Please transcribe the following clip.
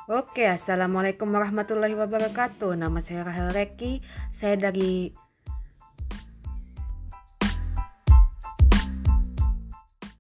Oke, assalamualaikum warahmatullahi wabarakatuh. Nama saya Rahel Reki. Saya dari